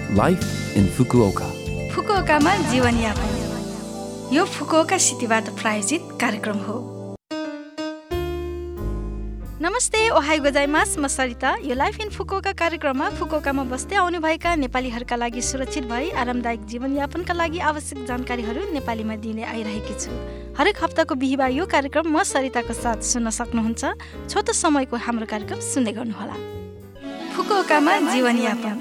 Life in Fukuoka. फुकुओकामा जीवनयापन यो Fukuoka सिटीबाट प्रायोजित कार्यक्रम हो। नमस्ते, ओहाई गोजाइमास, म सरिता। यो लाइफ इन फुकुओका कार्यक्रममा फुकुओकामा बस्दै आउनुभएका नेपालीहरूका लागि सुरक्षित भई आरामदायक जीवनयापनका लागि आवश्यक जानकारीहरू नेपालीमा दिने आइरहेकी छु। हरेक हप्ताको बिहिबार यो कार्यक्रम म सरिताको साथ सुन्न सक्नुहुन्छ। छोटो समयको हाम्रो कार्यक्रम सुन्दै गर्नुहोला। फुकुओकामा जीवनयापन।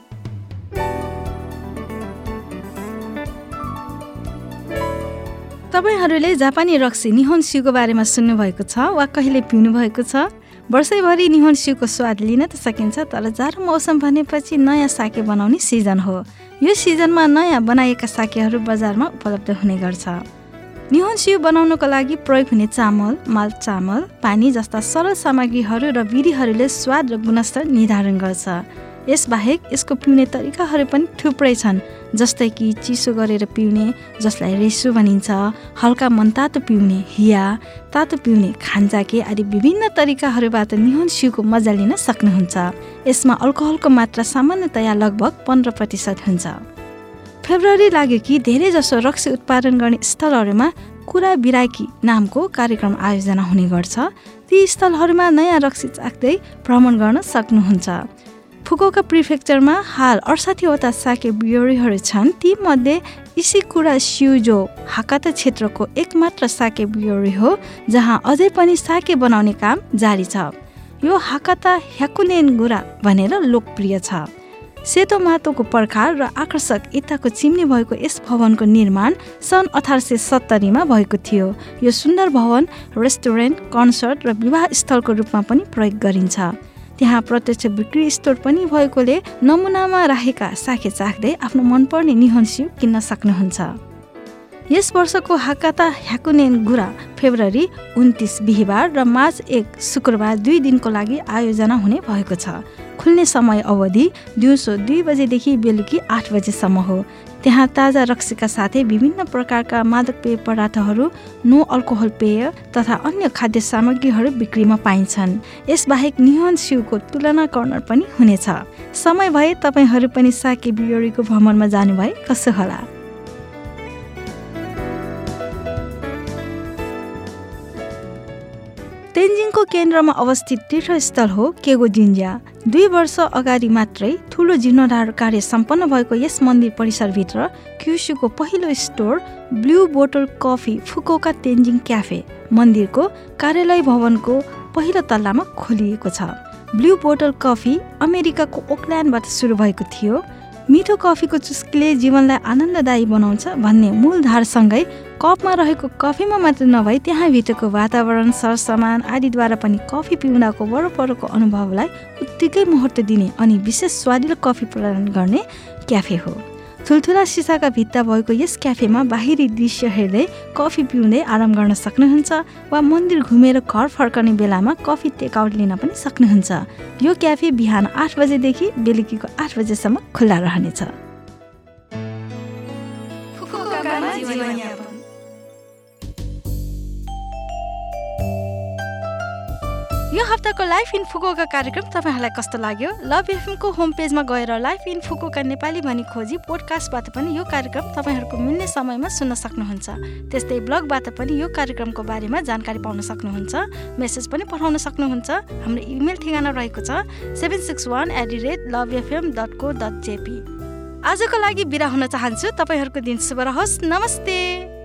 तपाईहरूले जापानी रक्सी निहोन्स्यूको बारेमा सुन्नुभएको छ वा कहिले पिउनु भएको छ? वर्षैभरि निहोन्स्यूको स्वाद लिन त सकिन्छ, तर जाडो मौसम भनेपछि नयाँ साके बनाउने सिजन हो। यो सिजनमा नयाँ बनाइएका साकेहरू बजारमा उपलब्ध हुने गर्छ। निहोन्स्यू बनाउनको लागि प्रयोग हुने चामल, माल्ट चामल, पानी जस्ता सरल सामग्रीहरू र विधिहरूले स्वाद र गुणस्तर निर्धारण गर्छ। यसबाहेक यसको पिउने तरिकाहरू पनि थुप्रै छन्, जस्तै कि चिसो गरेर पिउने, जसलाई रेसो भनिन्छ, हल्का मनतातो पिउने, हिया, तातो पिउने, खान्जाके आदि विभिन्न तरिकाहरूबाट निहोन्स्यूको मजा लिन सक्नुहुन्छ। यसमा अल्कोहलको मात्रा सामान्यतया लगभग 15% हुन्छ। फेब्रुअरी लाग्यो कि धेरै जसो रक्सी उत्पादन गर्ने स्थलहरूमा कुरा बिराकी नामको कार्यक्रम आयोजना हुने गर्छ। ती स्थलहरूमा नयाँ रक्सी चाख्दै भ्रमण गर्न सक्नुहुन्छ। फुकुओका प्रिफेक्चरमा हाल 68वटा साके ब्रुअरीहरू छन्। ती मध्ये इसिकुरा स्युजो हाकाता क्षेत्रको एकमात्र साके ब्रुअरी हो जहाँ अझै पनि साके बनाउने काम जारी छ। यो हाकाता ह्याकुनेनगुरा भनेर लोकप्रिय छ। सेतो माटोको पर्खाल र आकर्षक इँटाको चिम्नी भएको यस भवनको निर्माण सन् 1870 भएको थियो। यो सुन्दर भवन रेस्टुरेन्ट, कन्सर्ट र विवाह स्थलको रूपमा पनि प्रयोग गरिन्छ। त्यहाँ प्रत्यक्ष बिक्री स्टोर पनि भएकोले नमुनामा राखेका साके चाख्दै आफ्नो मनपर्ने निहोन्स्यू किन्न सक्नुहुन्छ। यस वर्षको हाकाता ह्याकुनेनगुरा फेब्रुअरी 29 बिहिबार र मार्च 1 शुक्रबार 2 दिनको लागि आयोजना हुने भएको छ। खुल्ने समय अवधि दिउँसो 2 बजेदेखि बेलुकी 8 बजेसम्म हो। त्यहाँ ताजा रक्सीका साथै विभिन्न प्रकारका मादक पेय पदार्थहरू, नो अल्कोहल पेय तथा अन्य खाद्य सामग्रीहरू बिक्रीमा पाइन्छन्। यसबाहेक निहोन्स्यूको तुलना कर्नर पनि हुनेछ। समय भए तपाईहरू पनि साके ब्रुअरीको भ्रमणमा जानुभए कसो होला? तेन्जिङको केन्द्रमा अवस्थित तीर्थस्थल हो केगो जिन्जा। 2 वर्ष अगाडि मात्रै ठुलो जीर्णोद्धार कार्य सम्पन्न भएको यस मन्दिर परिसरभित्र क्युशुको पहिलो store blue bottle coffee Fukuoka Tenzing cafe मन्दिरको कार्यालय भवनको पहिलो तल्लामा खोलिएको छ। ब्लू बोटल कफी अमेरिकाको ओकल्यान्डबाट सुरु भएको थियो। मिठो कफीको चुस्कीले जीवनलाई आनन्ददायी बनाउँछ भन्ने मूलधारसँगै कपमा रहेको कफीमा मात्र नभई त्यहाँभित्रको वातावरण, सरसामान आदिद्वारा पनि कफी पिउँदाको वरपरको अनुभवलाई उत्तिकै महत्त्व दिने अनि विशेष स्वादिलो कफी प्रदान गर्ने क्याफे हो। ठुल्ठुला सिसाका भित्ता भएको यस क्याफेमा बाहिरी दृश्य हेर्दै कफी पिउँदै आराम गर्न सक्नुहुन्छ वा मन्दिर घुमेर घर फर्कने बेलामा कफी टेकआउट लिन पनि सक्नुहुन्छ। यो क्याफे बिहान 8 बजेदेखि बेलुकीको 8 बजेसम्म खुल्ला रहनेछ। यो हप्ताको लाइफ इन फुकुओका कार्यक्रम तपाईहरुलाई कस्तो लाग्यो? लभ एफएमको होम पेजमा गएर लाइफ इन फुकुओका नेपाली भनी खोजी पोडकास्टबाट पनि यो कार्यक्रम तपाईहरुको मिल्ने समयमा सुन्न सक्नुहुन्छ। त्यस्तै ब्लगबाट पनि यो कार्यक्रमको बारेमा जानकारी पाउन सक्नुहुन्छ। मेसेज पनि पठाउन सक्नुहुन्छ। हाम्रो इमेल ठेगाना रहेको छ 761@lovefm.co.jp। आजको लागि बिदा हुन चाहन्छु। तपाईहरुको दिन शुभ रहोस्। नमस्ते।